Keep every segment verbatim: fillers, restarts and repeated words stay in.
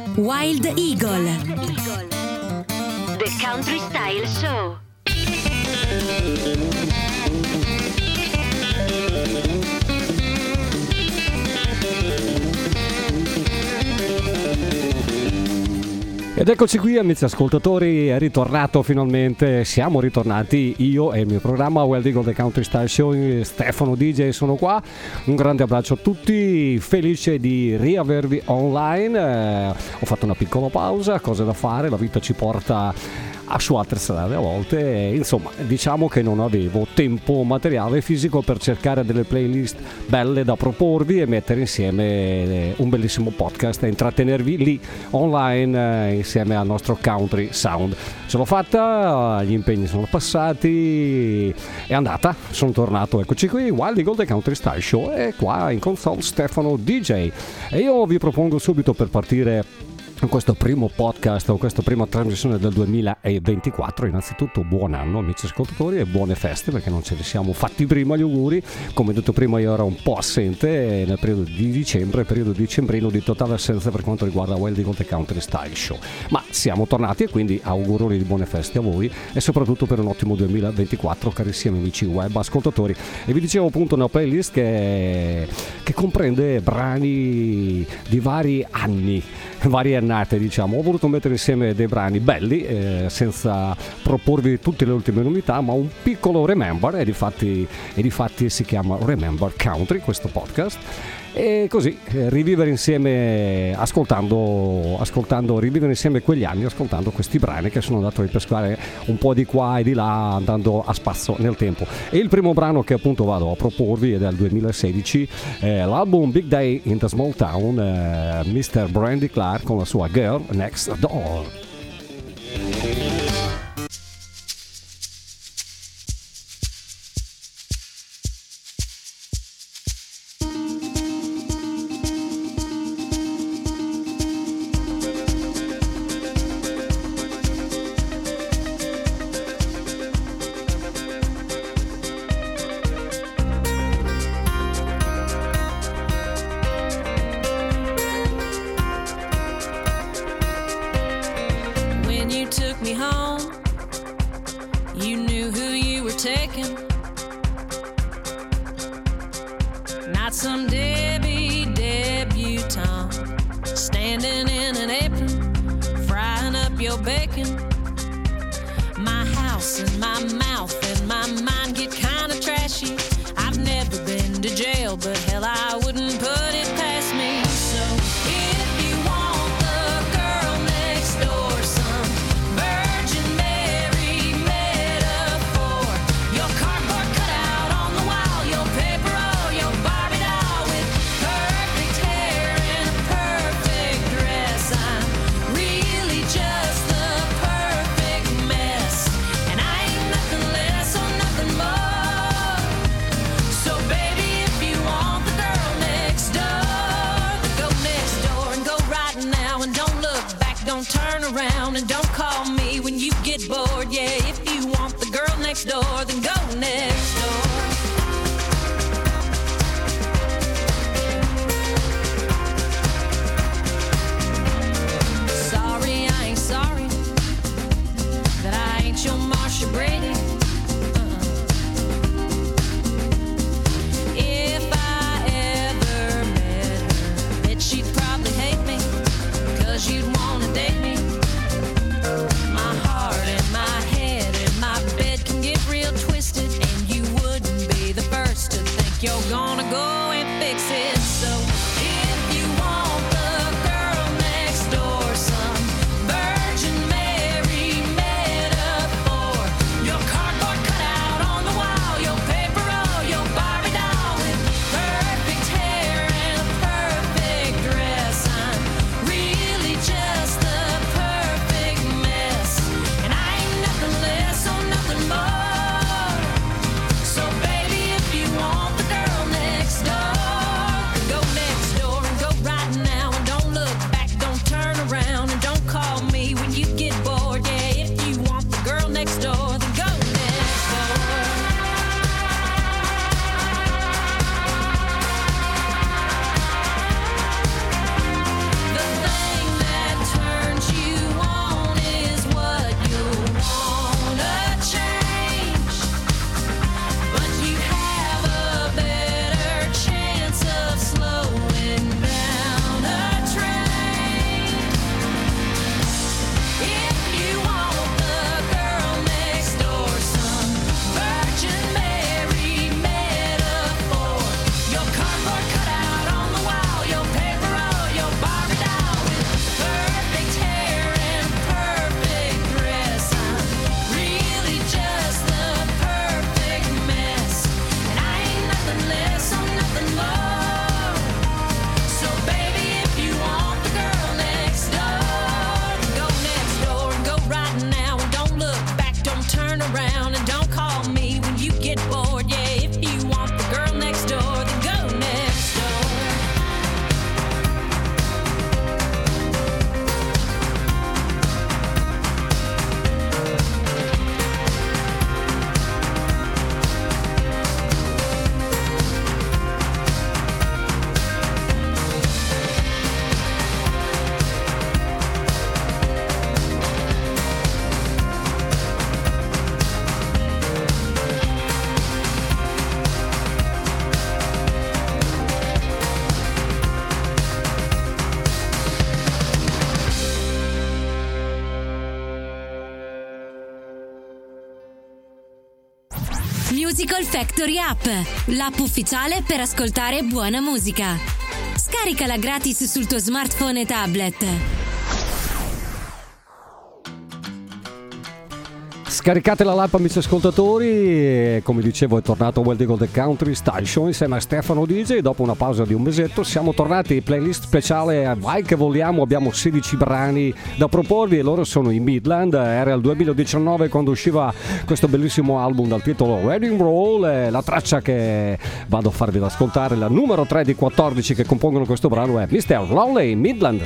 Wild Eagle. The Country Style Show. Ed eccoci qui, amici ascoltatori, è ritornato finalmente, siamo ritornati io e il mio programma Wild Eagle The Country Style Show. Stefano D J sono qua, un grande abbraccio a tutti, felice di riavervi online. Eh, ho fatto una piccola pausa, cose da fare, la vita ci porta a su altre strade a volte, e, insomma, diciamo che non avevo tempo materiale fisico per cercare delle playlist belle da proporvi e mettere insieme un bellissimo podcast e intrattenervi lì online eh, insieme al nostro country sound. Ce l'ho fatta, gli impegni sono passati, è andata, sono tornato, eccoci qui, Wild Eagle The Country Style Show, e qua in console Stefano D J, e io vi propongo subito, per partire in questo primo podcast o questa prima trasmissione del duemilaventiquattro, innanzitutto buon anno amici ascoltatori e buone feste, perché non ce li siamo fatti prima gli auguri. Come detto prima, io ero un po' assente nel periodo di dicembre, periodo dicembrino di totale assenza per quanto riguarda Wild Eagle The Country Style Show, ma siamo tornati e quindi auguroni di buone feste a voi e soprattutto per un ottimo duemilaventiquattro, carissimi amici web ascoltatori. E vi dicevo appunto una playlist che, che comprende brani di vari anni, varie annate, diciamo. Ho voluto mettere insieme dei brani belli eh, senza proporvi tutte le ultime novità, ma un piccolo remember, e difatti, e difatti si chiama Remember Country questo podcast. E così eh, rivivere insieme, ascoltando, ascoltando, rivivere insieme quegli anni, ascoltando questi brani che sono andato a ripescare un po' di qua e di là, andando a spasso nel tempo. E il primo brano che appunto vado a proporvi è del duemilasedici, eh, l'album Big Day in the Small Town, eh, mister Brandy Clark con la sua Girl Next Door. My heart and my bed can get real twisted, and you wouldn't Musical Factory App, l'app ufficiale per ascoltare buona musica. Scaricala gratis sul tuo smartphone e tablet. Scaricate la l'app, amici ascoltatori, e come dicevo è tornato Wild Eagle The Country Style Show insieme a Stefano D J. Dopo una pausa di un mesetto siamo tornati, playlist speciale Vai che vogliamo, abbiamo sedici brani da proporvi e loro sono i Midland. Era il duemiladiciannove quando usciva questo bellissimo album dal titolo Wedding Roll. La traccia che vado a farvi ad ascoltare, la numero tre di quattordici che compongono questo brano, è mister Lonely, Midland.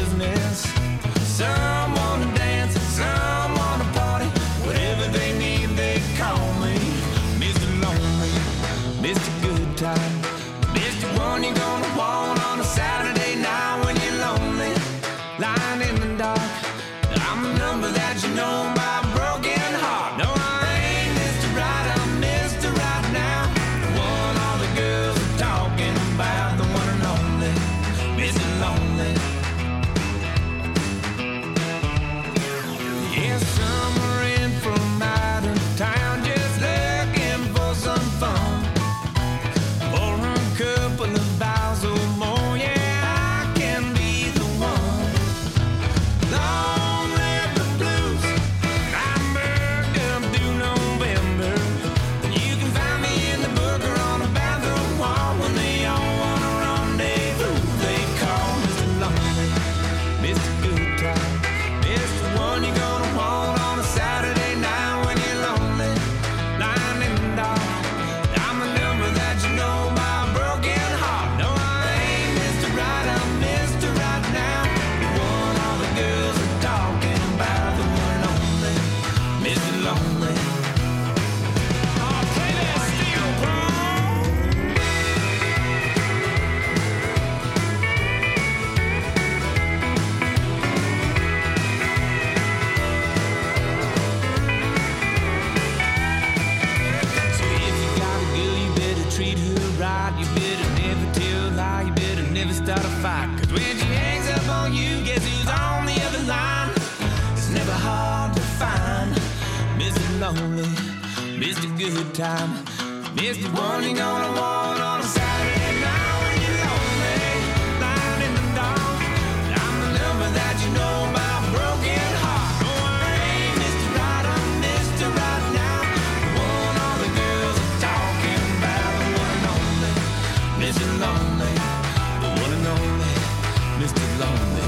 Mister Good Time, Mister One you're gonna want on a Saturday night when you're lonely, lying in the dark. I'm the number that you know about, broken heart. No, I ain't Mister Right, I'm Mister Right now. The one all the girls are talking about, the one and only, Mister Lonely, the one and only, Mister Lonely.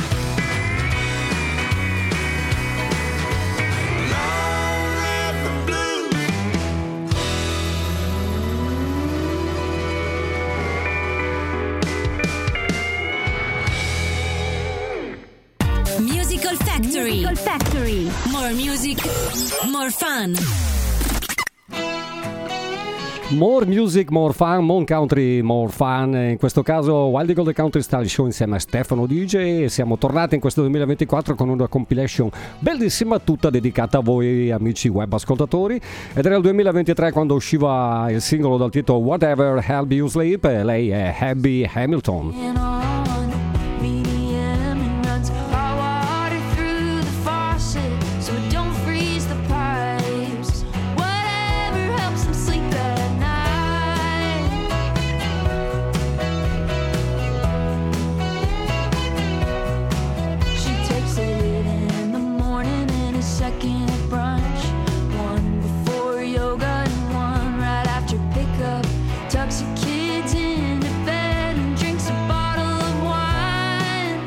Musical Factory. Musical Factory. More music, more fun. More music, more fun, more country, more fun. In questo caso Wild Eagle The Country Style Show insieme a Stefano D J, e siamo tornati in questo duemilaventiquattro con una compilation bellissima tutta dedicata a voi amici web ascoltatori, ed era il duemilaventitré quando usciva il singolo dal titolo Whatever Help You Sleep, e lei è Abby Hamilton. Tucks your kids into bed and drinks a bottle of wine.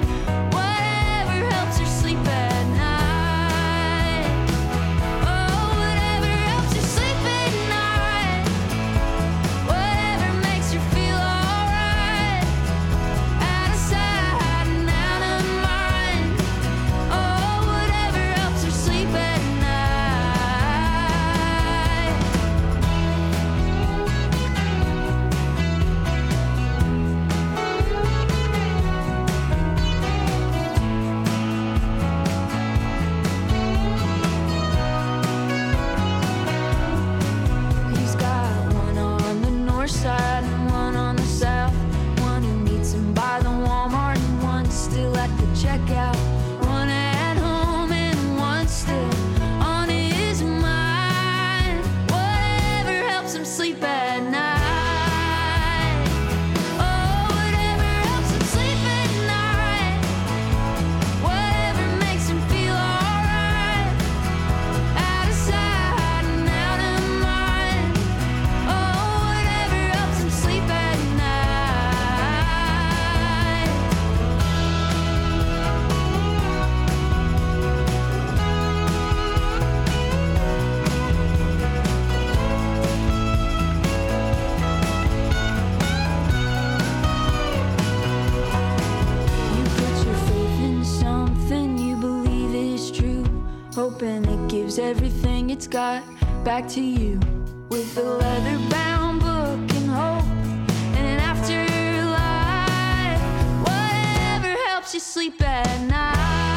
gives everything it's got back to you with a leather-bound book and hope and an afterlife. Whatever helps you sleep at night.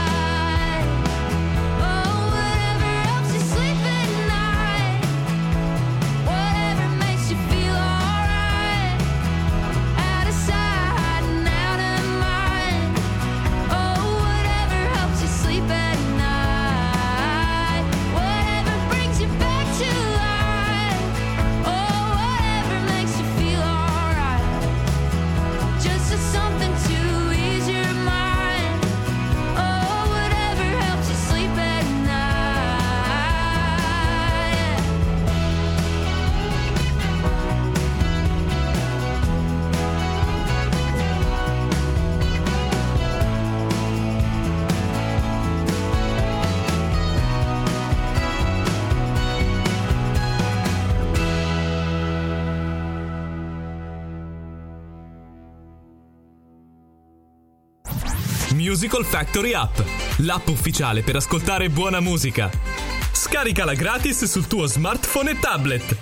Something to ease your mind. Oh, whatever helps you sleep at night. Musical Factory App, l'app ufficiale per ascoltare buona musica. Scaricala gratis sul tuo smartphone e tablet.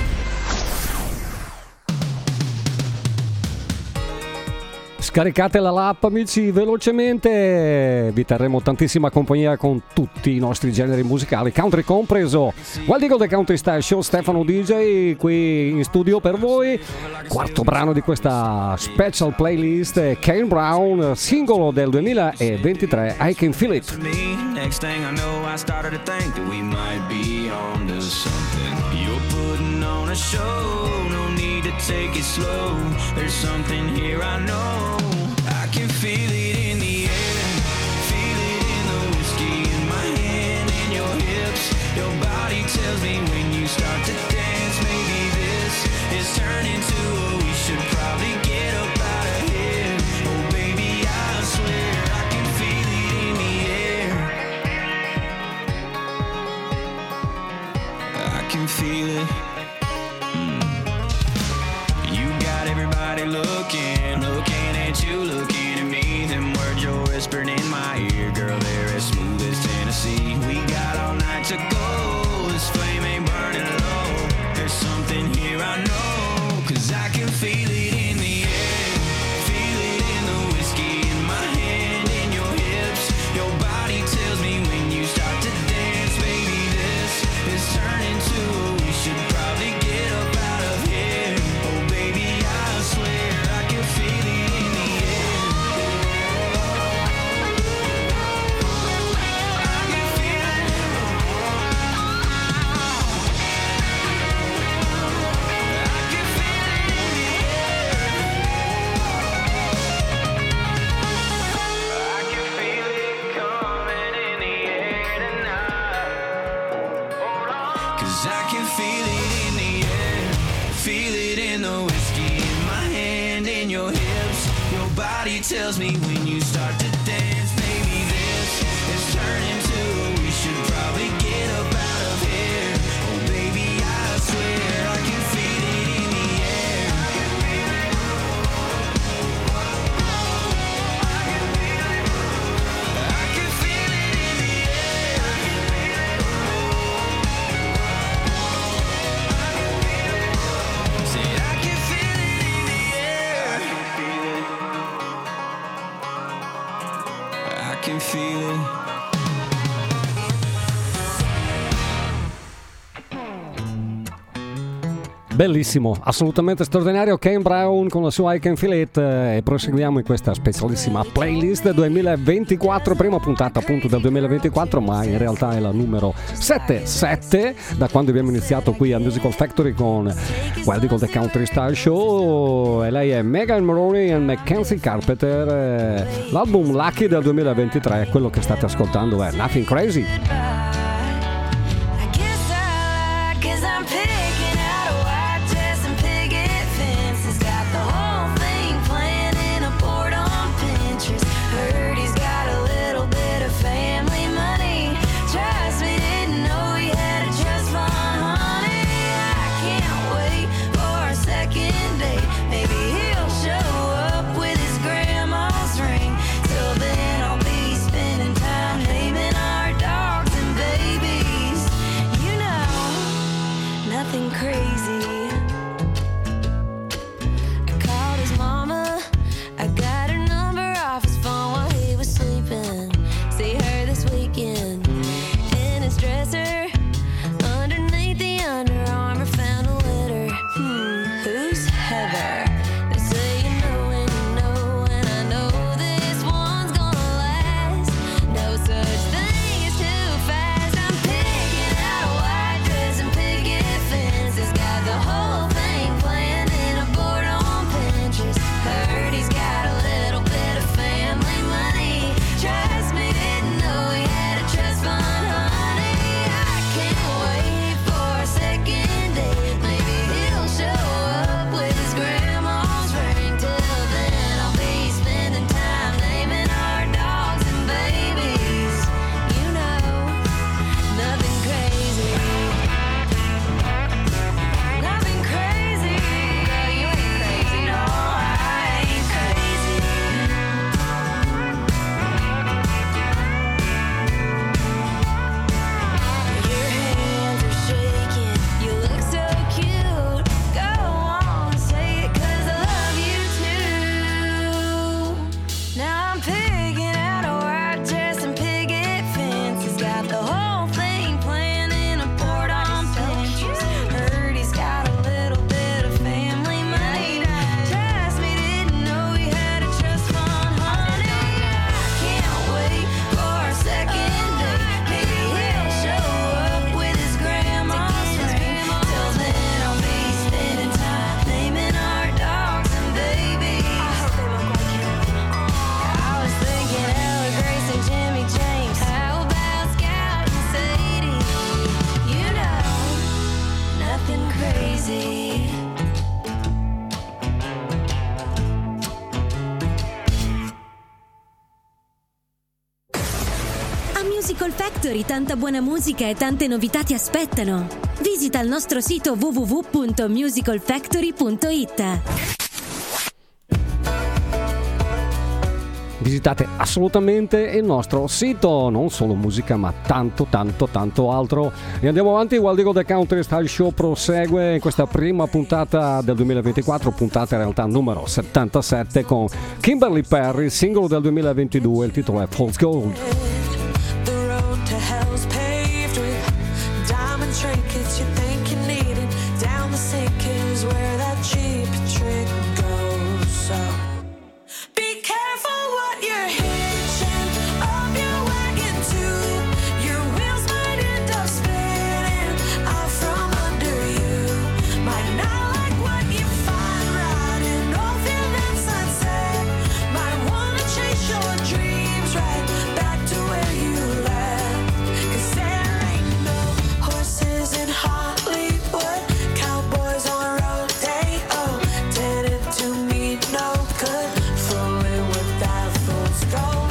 Scaricatela l'app, amici, velocemente. Vi terremo tantissima compagnia con tutti i nostri generi musicali, country compreso. Wild Eagle The Country Style Show, Stefano D J qui in studio per voi. Quarto brano di questa special playlist, Kane Brown, singolo del duemilaventitré, I Can Feel It. Next thing I know, I started to think that we might be on to something. You're putting on a show, no need to take it slow. There's something here I know. I can feel it in the air, feel it in the whiskey in my hand and your hips. Your body tells me when you start to dance, maybe this is turning to a we should probably get up out of here. Oh baby, I swear I can feel it in the air. I can feel it. Everybody looking, looking at you, looking at me. Them words you're whispering in my ear, girl, they're as smooth as Tennessee. We got all night to go, this flame ain't burning low. There's something here I know, cause I can feel it in the air. Feel it in the whiskey in my hand and your hips. Your body tells me when you start to dance, baby, this is turning to a we should probably get up out of here. Oh baby, I swear I can feel it in the air. I can feel it. I can feel it in the air. I can feel it coming in the air tonight. Hold on. 'Cause I can feel it in the air. Feel it in the whiskey in my hand and your hips. Your body tells me when you start to dance, maybe this is turning to we should probably get up out of here. Oh baby, I swear I can feel it in the air. I can feel it. I can feel it in the air. Said I can feel it in the air. I can feel it. Bellissimo, assolutamente straordinario, Kane Brown con la sua I Can Feel It, e proseguiamo in questa specialissima playlist duemilaventiquattro, prima puntata appunto del duemilaventiquattro, ma in realtà è la numero settantasette da quando abbiamo iniziato qui a Musical Factory con Wild Eagle The Country Style Show, e lei è Megan Moroney e Mackenzie Carpenter. L'album Lucky del duemilaventitré, quello che state ascoltando è Nothing Crazy. I guess I like 'cause I'm picking out a white dress and picket fences. Got the whole thing planned in a board on Pinterest. Heard he's got a little bit of family money. Trust me, didn't know he had a trust fund, honey. I can't wait for a second date. Maybe he'll show up with his grandma's ring. Till then I'll be spending time naming our dogs and Musical Factory, tanta buona musica e tante novità ti aspettano. Visita il nostro sito w w w punto musical factory punto i t. Visitate assolutamente il nostro sito, non solo musica ma tanto tanto tanto altro. E andiamo avanti, Wild Eagle The Country Style Show prosegue in questa prima puntata del duemilaventiquattro, puntata in realtà numero settantasette, con Kimberly Perry, singolo del duemilaventidue, il titolo è Fool's Gold. The road to hell's paved with diamond trinkets you think you need it. Down the sink is where that cheap trick goes. So be careful what you're hitching up your wagon to. Your wheels might end up spinning out from under you. Might not like what you find riding off in that sunset. Might wanna chase your dreams right back to where you left. 'Cause there ain't no horses in Hollywood, cowboys on rodeo, tended to me no good, fooling with that fool's gold.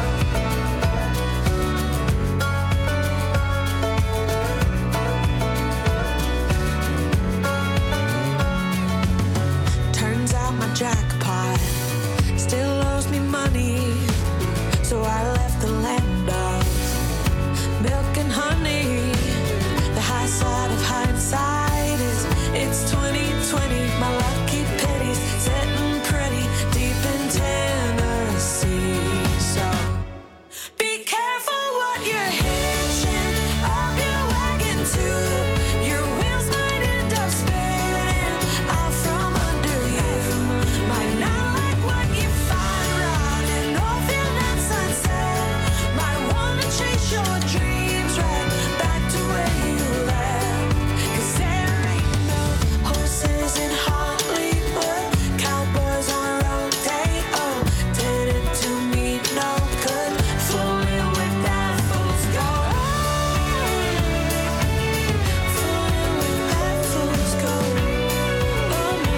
Turns out my jackpot still owes me money, so I left the land of milk and honey. The high side of hindsight is it's twenty twenty. My lucky pennies sitting pretty deep in Tennessee. So be careful what you're hitching up your wagon to. Your wheels might end up spinning out from under you. Might not like what you find riding off in that sunset. Might wanna chase your dreams right back to where you left. 'Cause there ain't no horses in Hollywood, cowboys on rodeo, tended to me no good, fooling with that fool's gold. Fooling with that fool's gold. Oh no.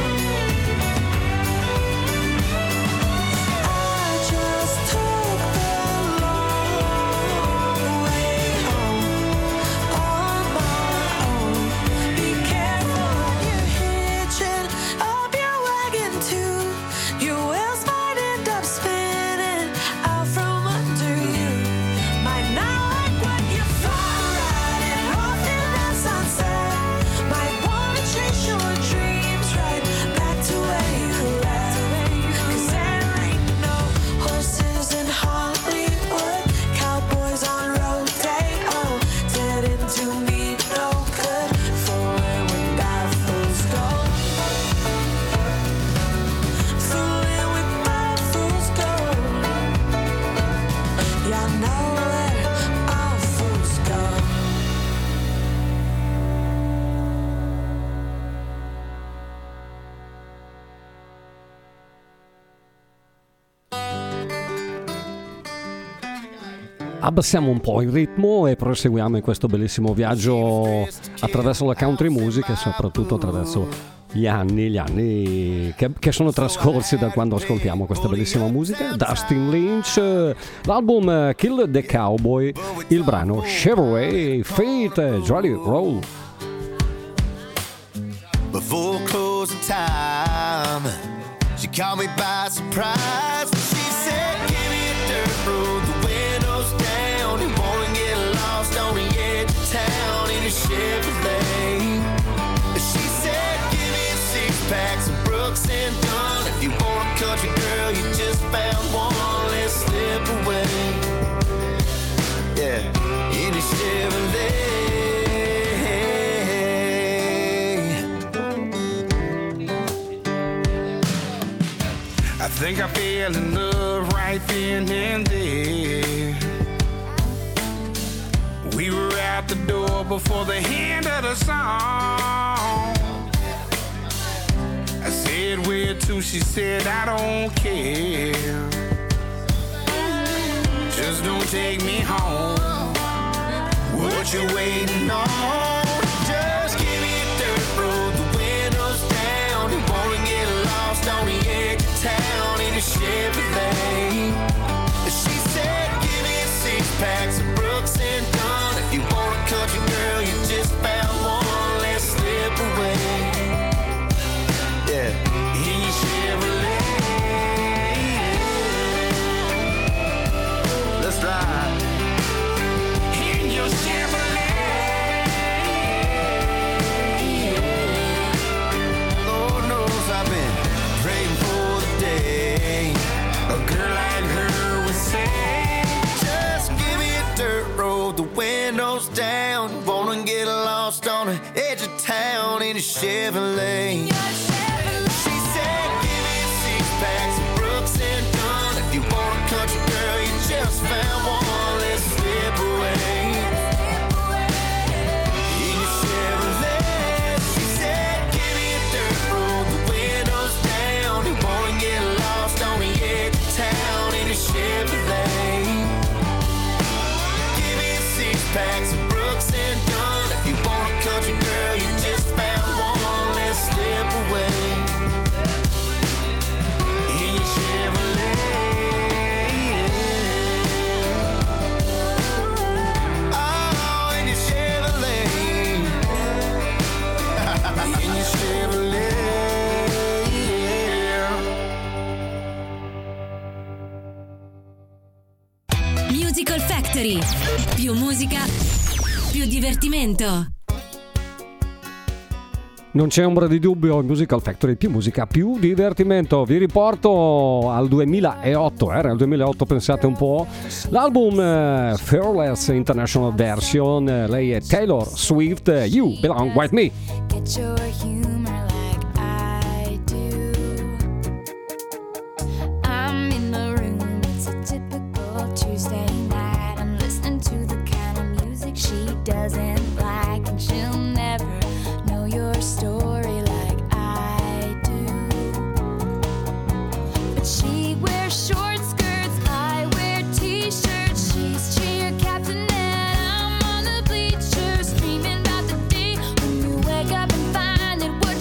I just took the long way home on my own. Be careful what you're hitching up your wagon to. Your wheels might end up spinning out from under you. Might not like what you find riding off in that sunset. Might wanna chase your dreams right back to where you left. 'Cause there ain't no horses in Hollywood, cowboys on rodeo, tended to me no good, fooling with that fool's gold. Fooling with that fool's gold. Y'all know where all fools go. Abbassiamo un po' il ritmo e proseguiamo in questo bellissimo viaggio attraverso la country music e soprattutto attraverso gli anni, gli anni che, che sono trascorsi da quando ascoltiamo questa bellissima musica. Dustin Lynch, l'album Kill the Cowboy, il brano Chevrolet, Fate, Jolly Roll. Before closing time, she caught me by surprise. She said, give me a dirt road, the windows down. You wanna get lost on the edge of town in a Chevrolet. She said, give me a six pack, some Brooks and Dunn. If you want a country girl, you just found one, let's slip away. Yeah, in a Chevrolet. I think I fell in love right then and there. We were out the door before the end of the song. I said where to, she said I don't care. Just don't take me home. What you waiting on? Just give me a dirt road, the windows down. You wanna get lost on the edge of town in a Chevrolet. She said give me a six pack, some Brooks Chevrolet. She said, give me a six pack, some Brooks and Dunn. If you want a country girl, you just found one. Let's slip away in your Chevrolet. She said, give me a dirt road, the windows down. You wanna get lost on the edge of town in a Chevrolet. Give me a six pack, some Brooks and Dunn. If you want a country girl, you just found one. Let's slip away in your Chevrolet. Oh, in your Chevrolet. In your Chevrolet. Musical Factory. Più musica, più divertimento. Non c'è ombra di dubbio, Musical Factory, più musica, più divertimento. Vi riporto al duemilaotto, era il duemilaotto, pensate un po'. L'album eh, Fearless International Version, eh, lei è Taylor Swift, eh, You Belong With Me. Get your humor like I do. I'm in the room, it's a typical Tuesday night. I'm listening to the kind of music she doesn't like, and she'll never know your story like I do. But she wears short skirts, I wear t-shirts. She's cheer captain and I'm on the bleachers, dreaming about the day when you wake up and find that what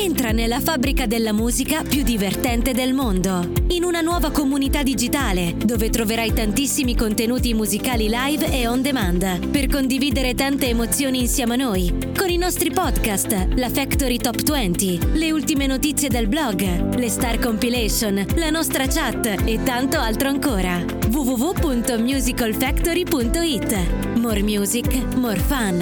Entra nella fabbrica della musica più divertente del mondo, in una nuova comunità digitale dove troverai tantissimi contenuti musicali live e on demand per condividere tante emozioni insieme a noi, con i nostri podcast, la Factory Top venti, le ultime notizie del blog, le Star Compilation, la nostra chat e tanto altro ancora. w w w punto musical factory punto i t. More music, more fun.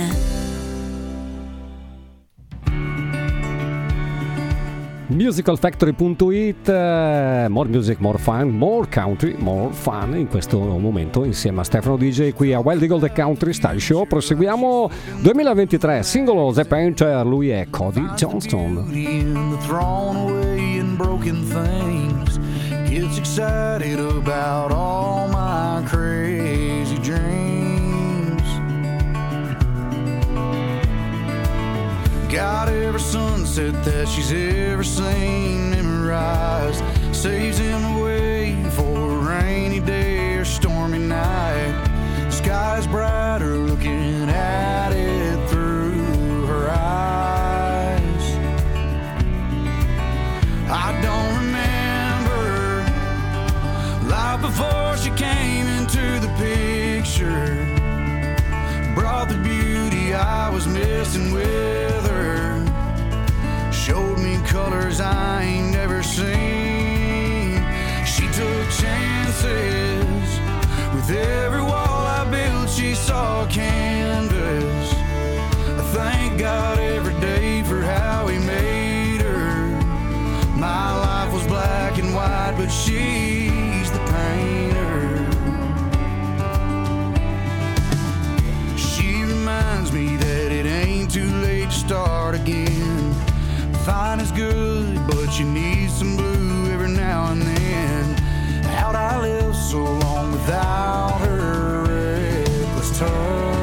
musical factory punto i t, eh, more music, more fun, more country, more fun in questo momento insieme a Stefano D J qui a Wild Eagle The Country Style Show. Proseguiamo duemilaventitré, singolo The Painter, lui è Cody Johnston. In the thrown away and broken things, gets excited about all my crazy dreams. Got every sunset that she's ever seen memorized, saves him away for a rainy day or stormy night. Sky's brighter looking at it through her eyes. I don't remember life before she came into the picture, brought the beauty I was missing with her, showed me colors I ain't never seen. She took chances with every wall I built. She saw canvas. I thank God every day for how he made her. My life was black and white, but she's the painter. She reminds me that it ain't too late to start again. Fine is good, but you need some blue every now and then. How'd I live so long without her reckless touch?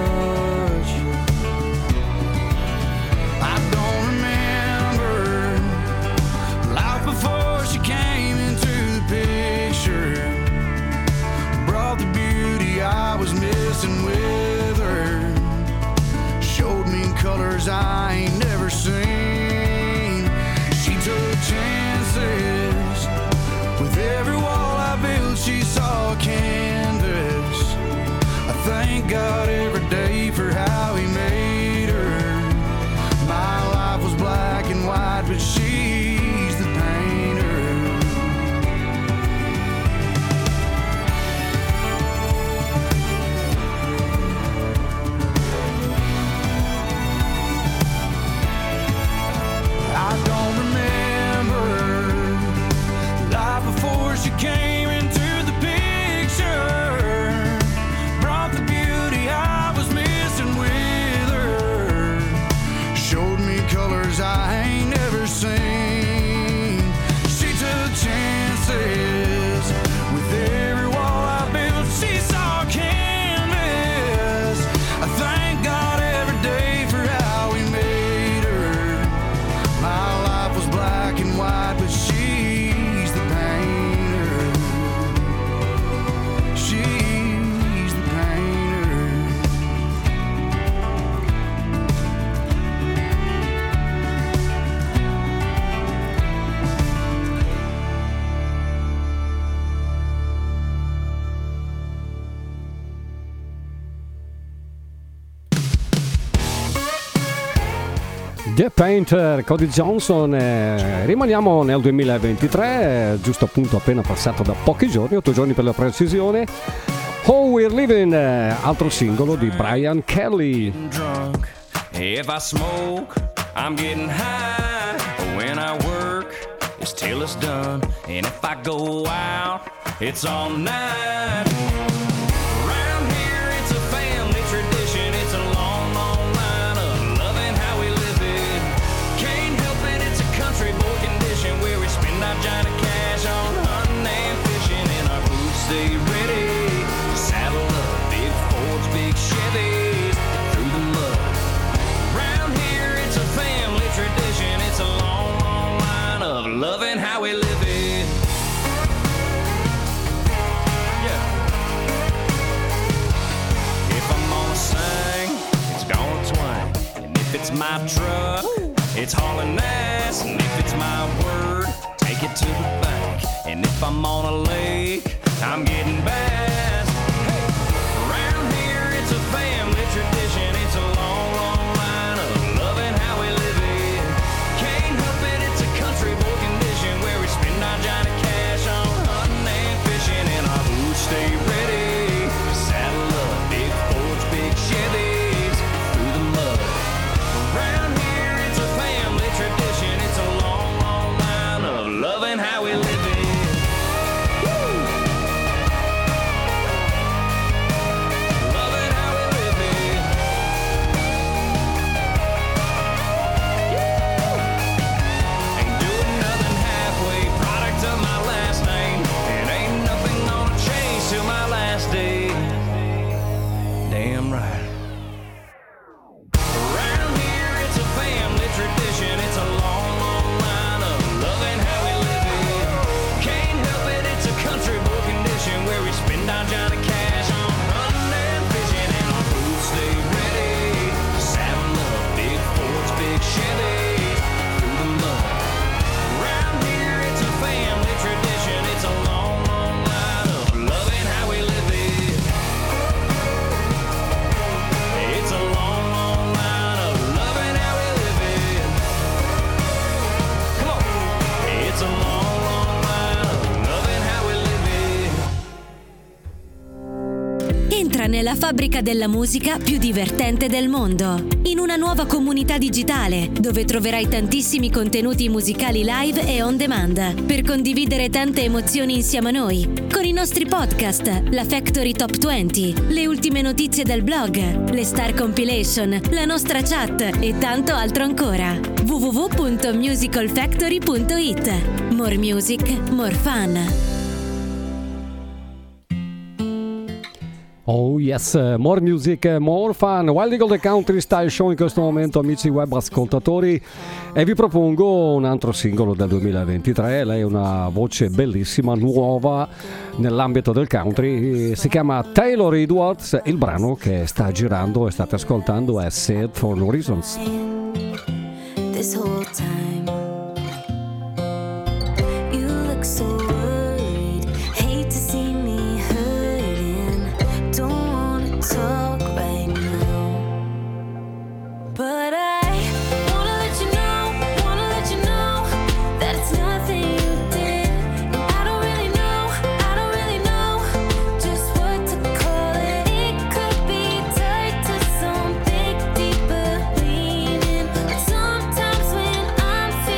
I don't remember life before she came into the picture, brought the beauty I was missing with her, showed me colors I ain't never seen. She took chances with every wall I built. She saw canvas. I thank God every day for how he made her. My life was black and white, but she's the painter. I don't remember life before she came into the picture, brought the beauty I was missing with her, showed me colors I ain't never seen. She took chances with every wall I built. She saw canvas. I thank God every day for how he made her. My life was black and white, but she's the painter. She's the painter. The Painter, Cody Johnson. Eh, rimaniamo nel duemilaventitré, eh, giusto appunto appena passato da pochi giorni, otto giorni per la precisione. How We're Living, eh, altro singolo di Brian Kelly. Drunk. If I smoke, I'm getting high. When I work, it's till it's done. And if I go out, it's all night. Around here, it's a family tradition. It's a long, long line of loving how we live it. Can't help it, it's a country boy condition where we spend our giant cash on hunting and fishing. And our boots stay ready. Saddle up, big Fords, big Chevys, through the mud. Around here, it's a family tradition. It's a long, long line of loving how we live it. Yeah. If I'm gonna sing, it's gonna twang. And if it's my truck, it's hauling ass. ass. And if it's my word, take it to the bank. And if I'm on a lake, I'm getting bass. Hey, around here it's a family tradition. It's a long, long line of loving how we live it. Can't help it, it's a country boy condition where we spend our Johnny Cash on hunting and fishing, and our boots stay ready. Saddle up, big Fords, big Chevys through the mud. Around here it's a family tradition. It's a long, long line of loving how we live it. Entra nella fabbrica della musica più divertente del mondo, in una nuova comunità digitale dove troverai tantissimi contenuti musicali live e on demand per condividere tante emozioni insieme a noi, con i nostri podcast, la Factory Top venti, le ultime notizie del blog, le Star Compilation, la nostra chat e tanto altro ancora. w w w punto musical factory punto i t. More music, more fun. Oh yes, more music, more fun. Wild Eagle The Country Style Show in questo momento, amici web ascoltatori, e vi propongo un altro singolo del duemilaventitré. Lei è una voce bellissima, nuova nell'ambito del country, si chiama Taylor Edwards. Il brano che sta girando e state ascoltando è Sad for No Reasons. This whole time you look so worried, hate to see me hurting, don't wanna talk right now, but I wanna let you know, wanna let you know that it's nothing you did, and I don't really know, I don't really know just what to call it. It could be tied to something deeper, leaning, but sometimes when I'm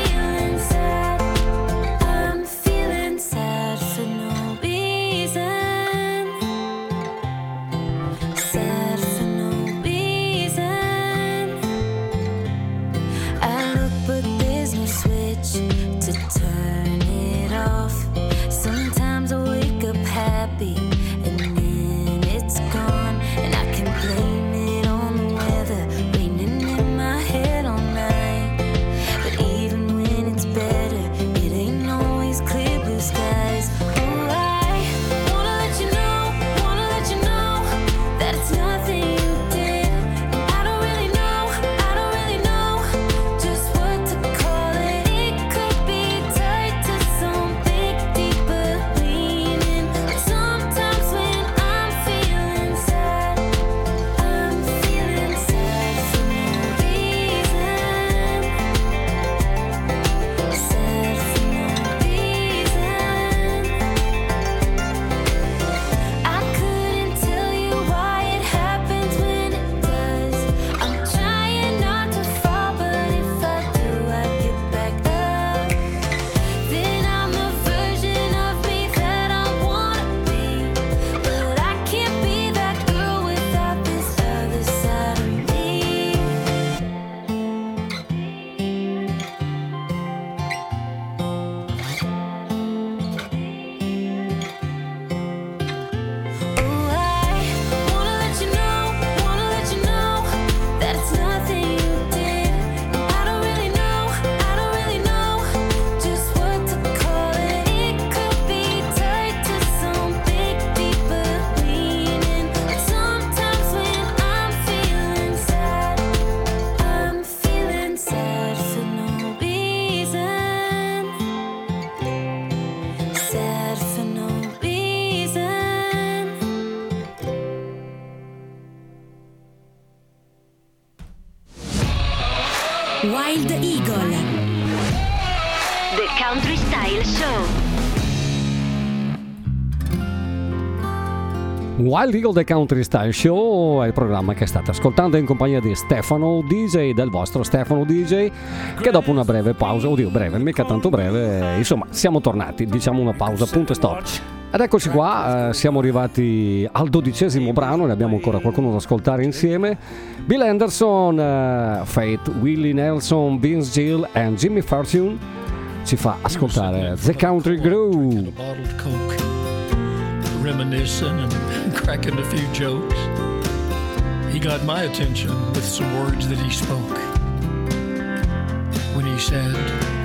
Wild Eagle. The Country Style Show. Wild Eagle The Country Style Show è il programma che state ascoltando in compagnia di Stefano D J, del vostro Stefano D J, che dopo una breve pausa, oddio breve, mica tanto breve, insomma siamo tornati, diciamo una pausa, punto e stop. Ed eccoci qua, eh, siamo arrivati al dodicesimo brano, ne abbiamo ancora qualcuno da ascoltare insieme. Bill Anderson, eh, Faith, Willie Nelson, Vince Gill e Jimmy Fortune ci fa ascoltare The Country Groove. Reminiscing and cracking a few jokes. He got my attention with some words that he spoke when he said,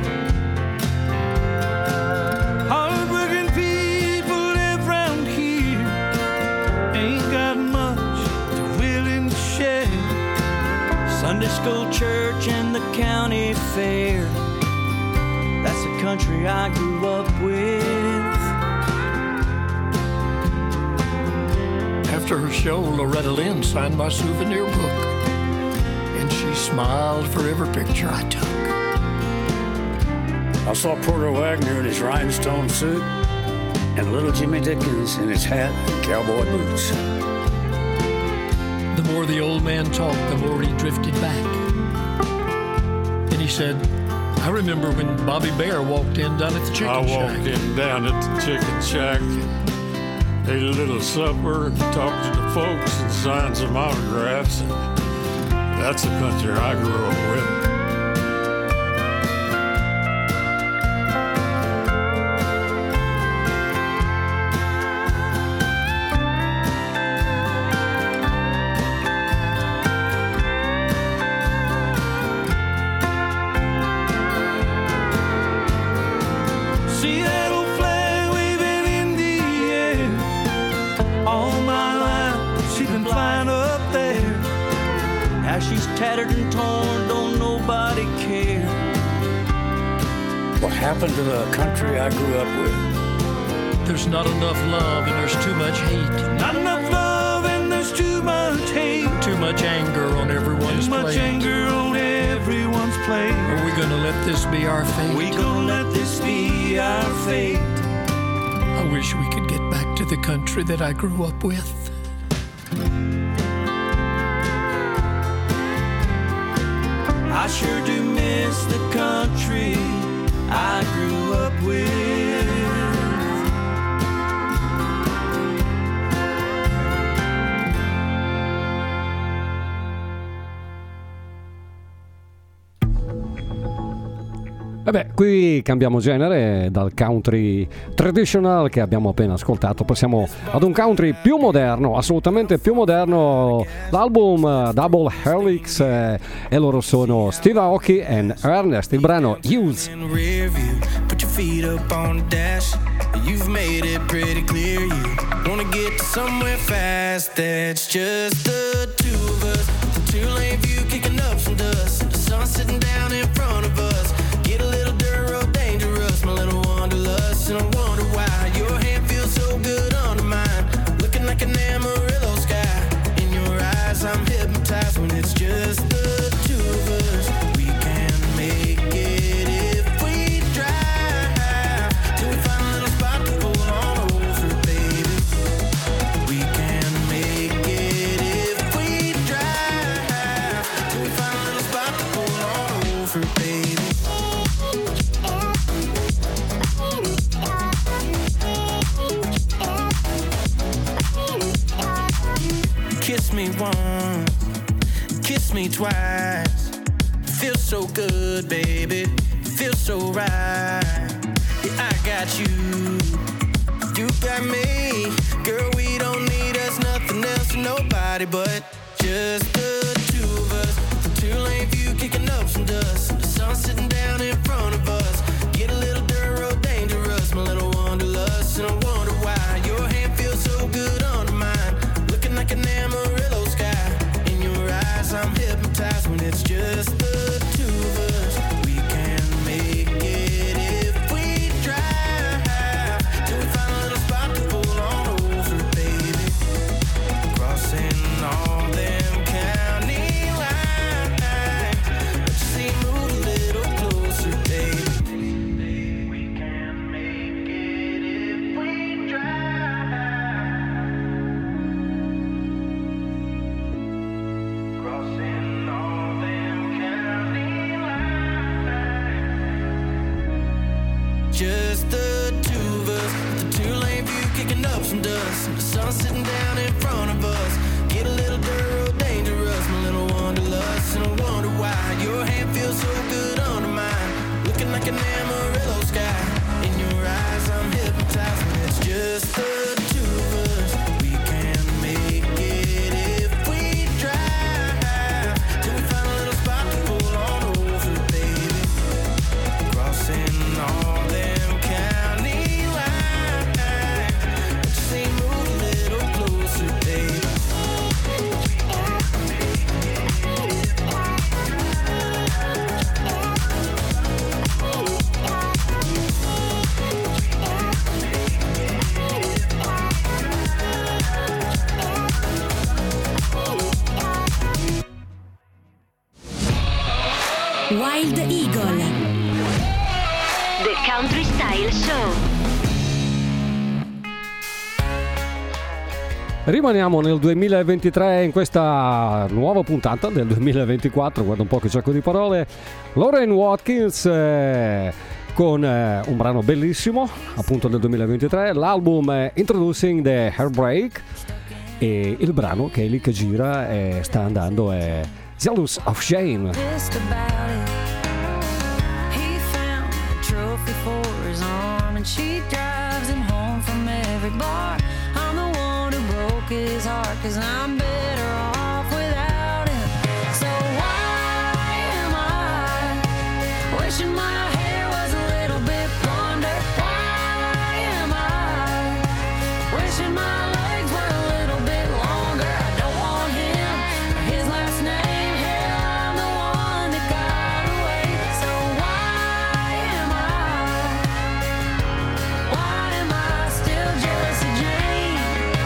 hard-working people live round here, ain't got much they're willing to share. Sunday school, church, and the county fair, that's the country I grew up with. After her show, Loretta Lynn signed my souvenir book, and she smiled for every picture I took. I saw Porter Wagner in his rhinestone suit and little Jimmy Dickens in his hat and cowboy boots. The more the old man talked, the more he drifted back. And he said, I remember when Bobby Bear walked in down at the chicken I shack. walked in down at the chicken shack, ate a little supper, talked to the folks, and signed some autographs. And that's the country I grew up with. See that old flag waving in the air. All my life she's been flying up there. Now she's tattered and torn, don't nobody care. What happened to the country I grew up with? There's not enough love and there's too much hate. Not enough love and there's too much hate. Too much anger on everyone's plate. Too much anger on everyone's plate. Are we gonna let this be our fate? We gonna let this be our fate. I wish we could get back to the country that I grew up with. I sure do miss the country I grew up with. Vabbè, qui cambiamo genere, dal country traditional che abbiamo appena ascoltato passiamo ad un country più moderno, assolutamente più moderno. L'album uh, Double Helix eh, e loro sono Steve Aoki e Ernest, il brano Use. Put your feet up on the dash. You've made it pretty clear you wanna get to somewhere fast. That's just the two of us. The two lane view kicking up some dust. The sun sitting down in front of us. Get a little dirt road dangerous, my little wanderlust. And I wonder why your hand feels so good under mine. Looking like an Amarillo sky. In your eyes I'm hypnotized when it's just the two of us. We can make it if we drive till we find a little spot to pull on over, baby. We can make it if we drive till we find a little spot to pull on over, baby. Kiss me once, kiss me twice. Feels so good, baby. Feels so right. Yeah, I got you. You got me. Girl, we don't need us, nothing else, nobody but just the two of us. The two lane view kicking up some dust. The sun sitting down in front of us. Get a little dirt road dangerous, my little wanderlust. And I wonder why your hand feels so good under mine. Looking like an Amarillo sky. In your eyes I'm hypnotized when it's just the two of us. We can make it if we drive till we find a little spot to pull on over, baby. Crossing all Wild Eagle. The Country Style Show. Rimaniamo nel duemilaventitré in questa nuova puntata del duemilaventiquattro, guarda un po' che gioco di parole. Lauren Watkins eh, con eh, un brano bellissimo, appunto del duemilaventitré, l'album eh, Introducing the Heartbreak, e il brano che è lì che gira e sta andando è Jealous of Shame. Just about it. He found a trophy for his arm, and she drives him home from every bar. I'm the one who broke his heart, 'cause I'm better off without him. So why am I wishing my hair was a little bit blonder? Why am I wishing my legs were a little bit longer? I don't want him or his last name. Hell, I'm the one that got away. So why am I, why am I still jealous of Jane?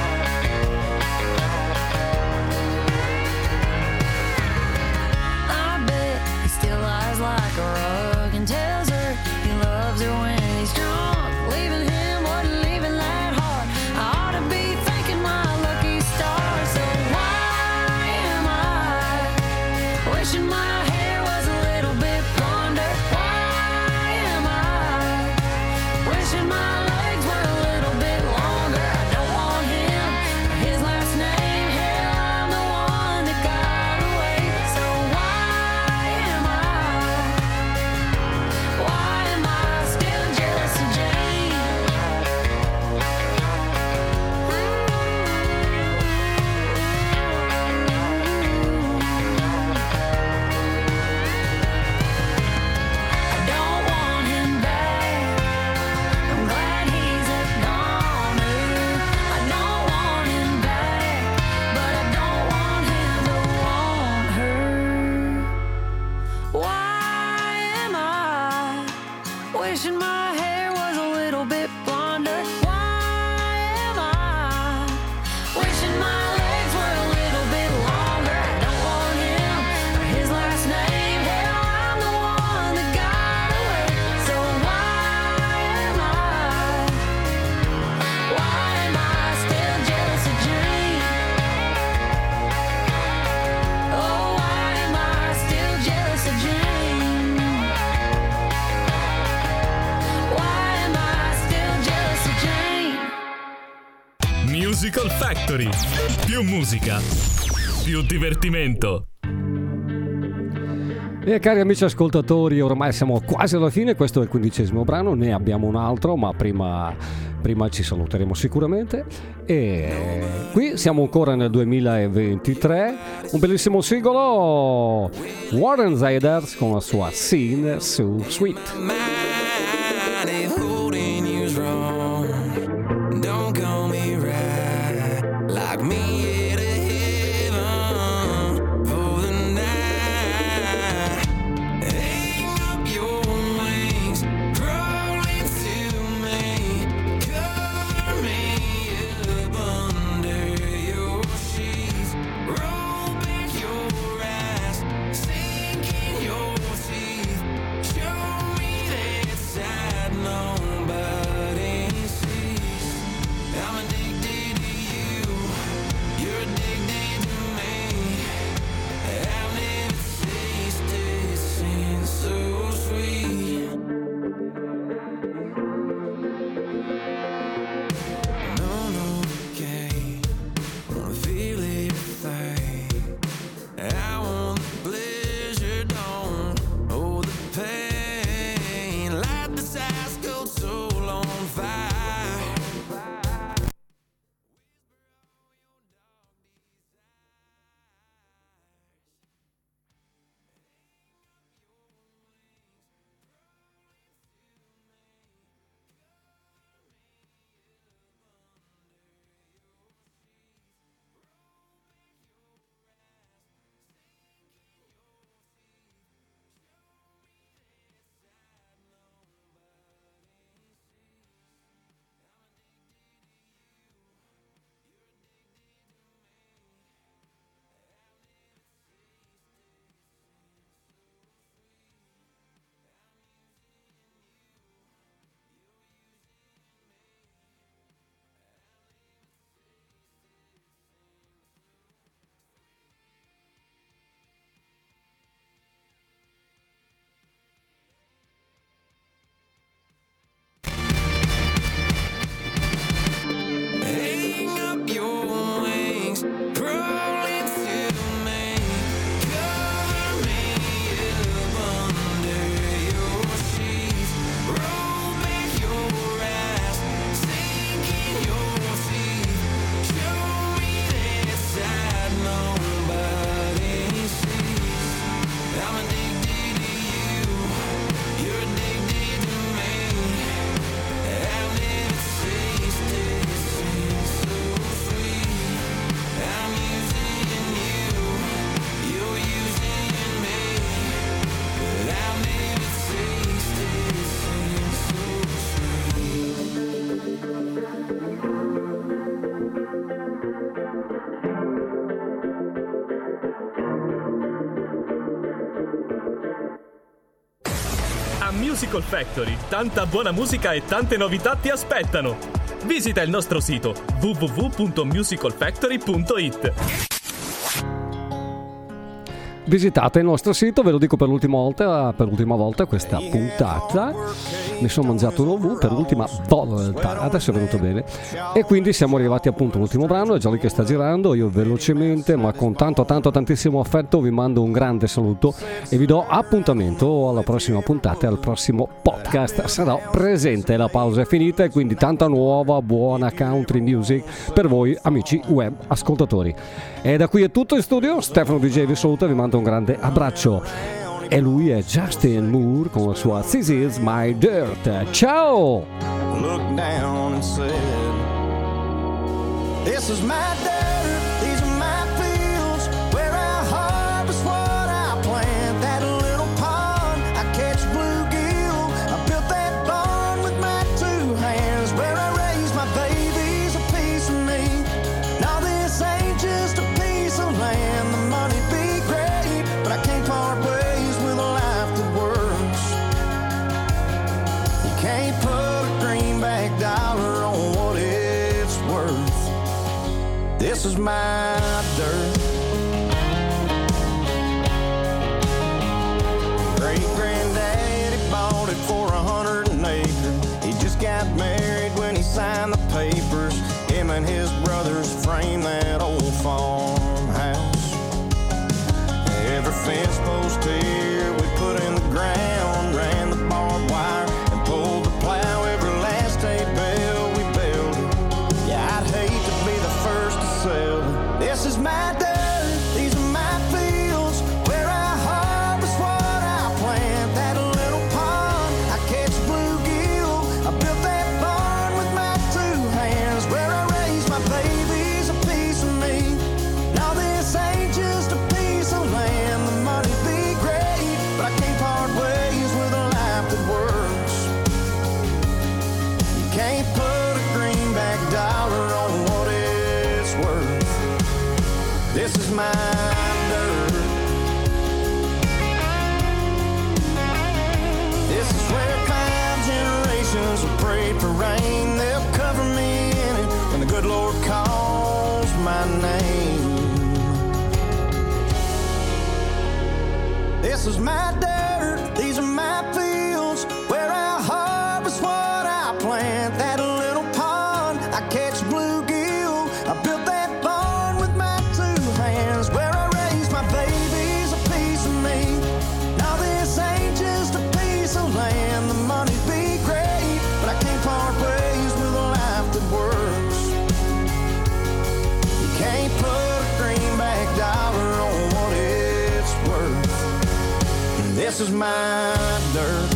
I bet he still lies like a rug and tells her he loves her when he's drunk. Leaving him wasn't leaving that hard. I ought to be thanking my lucky stars. So why am I wishing my hair was a little bit blonder? Why am I wishing my legs were a little bit longer? I don't want him or his last name. Hell, I'm the one that got away. So why am I, why am I still jealous of Jane? I don't want him back. I'm glad he's a goner. I don't want him back, but I don't want him to want her. Why am I wishing my hair was a little bit blonder? Why am I wishing my legs were a little bit longer? I don't want him or his last name. Hell, I'm the one that got away. So why am I, why am I still jealous of Jane? Oh, why am I still jealous of Jane? Why am I still jealous of Jane? Musical Factory. Più musica, più divertimento. E cari amici ascoltatori, ormai siamo quasi alla fine, questo è il quindicesimo brano, ne abbiamo un altro, ma prima, prima ci saluteremo sicuramente. E qui siamo ancora nel duemilaventitré, un bellissimo singolo, Warren Zeders con la sua Scene So Sweet. If holding you's wrong, don't call me right. Like me at a heaven for the night. Hang up your wings, crawl into me, cover me up under your sheets, roll back your eyes, sink in your teeth, show me that side nobody sees. I'm addicted to you. Musical Factory. Tanta buona musica e tante novità ti aspettano. Visita il nostro sito w w w punto musical factory punto i t. Visitate il nostro sito, ve lo dico per l'ultima volta, per l'ultima volta questa puntata. Mi sono mangiato un ovù per l'ultima volta, adesso è venuto bene. E quindi siamo arrivati appunto all'ultimo brano, è già lì che sta girando. Io velocemente, ma con tanto tanto tantissimo affetto, vi mando un grande saluto e vi do appuntamento alla prossima puntata e al prossimo podcast. Sarò presente, la pausa è finita e quindi tanta nuova buona country music per voi amici web ascoltatori. E da qui è tutto in studio, Stefano D J vi saluta e vi mando un grande abbraccio. E lui è Justin Moore con la sua This Is My Dirt. Ciao! Looked down and said, this is my dirt, these are my fields, where I harvest what I plant. That little pond, I catch bluegill, I built that barn with my two hands, where I raise my babies, a piece of me. Now this ain't just a piece of land, the money be great, but I can't part ways with a life that works. You can't put a greenback dollar on what it's worth. This is my dirt. Great granddaddy bought it for a hundred an acre. He just got married when he signed the papers. Him and his brothers framed that old farmhouse. Every fence post here we put in the ground, ran the barbed wire and pulled the plow. Every last hay bale we built it. Yeah, I'd hate to be the first to sell it. This is my dirt, these are my fields, where I harvest what I plant. That little pond, I catch bluegill, I built that barn with my two hands, where I raise my babies, a piece of me. Now this ain't just a piece of land, the money be great, but I can't part ways with a life that works. You can't put a greenback dollar on what it's worth. This is my dirt. This is where five generations have prayed for rain. They'll cover me in it when the good Lord calls my name. This is my dirt, these are my fields, where I harvest what I plant. That little pond, I catch bluegill, I built that barn with my two hands, where I raise my babies, a piece of me. Now this ain't just a piece of land, the money be great, but I can't part ways with a life that works. You can't put a greenback dollar on what it's worth. This is my dirt.